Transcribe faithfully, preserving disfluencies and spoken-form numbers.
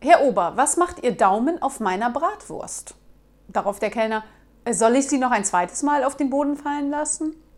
Herr Ober, was macht Ihr Daumen auf meiner Bratwurst? Darauf der Kellner: Soll ich sie noch ein zweites Mal auf den Boden fallen lassen?